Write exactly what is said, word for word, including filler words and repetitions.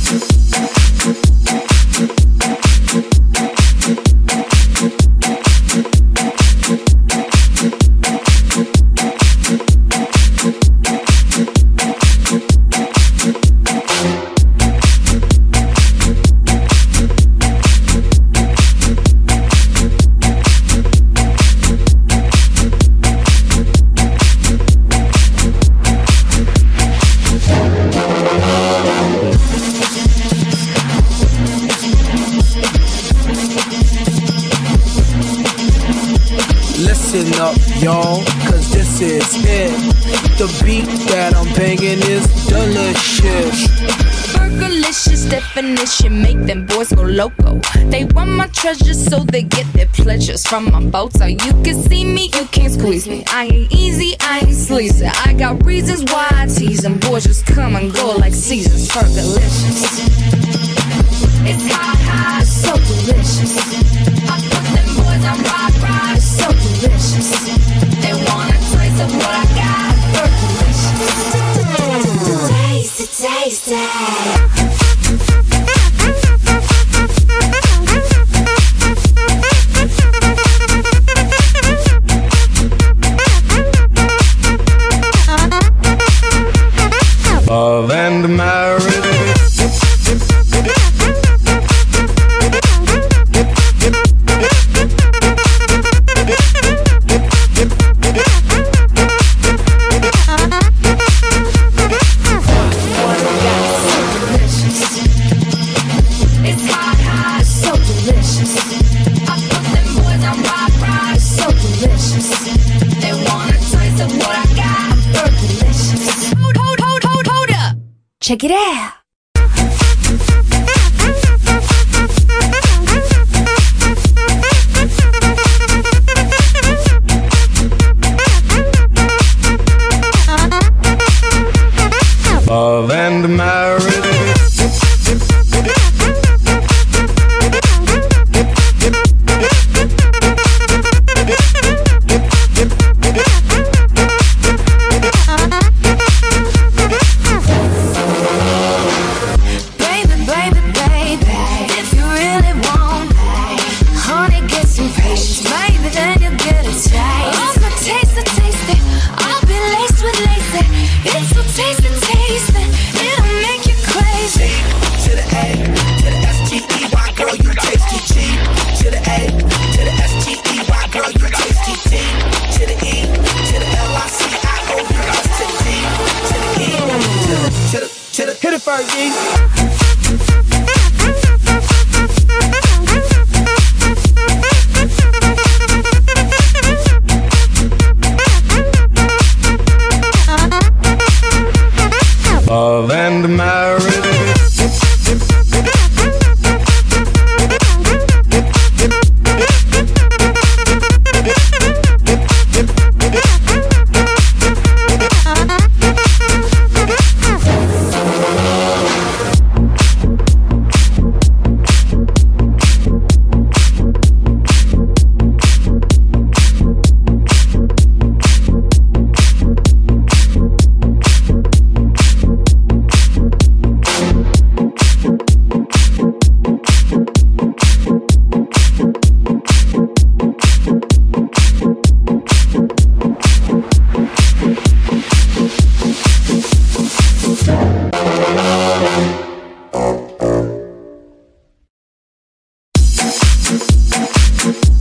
Listen up, y'all, cause this is it. The beat that I'm banging is delicious. Burgerlicious definition, make them boys go loco. They want my treasures so they get their pleasures from my boat. So you can see me, you can't squeeze me. I ain't easy, I ain't sleazy. I got reasons why I tease them. Boys just come and go like seasons. Burgerlicious. It's hot, hot, so delicious. I put them boys on rock, rock, it's so delicious. They want a taste of what I got. Burgerlicious. Taste it, taste it. Love and marriage. Check it out. Love and marriage. Hit it, Fergie. Love and marriage. We'll be right back.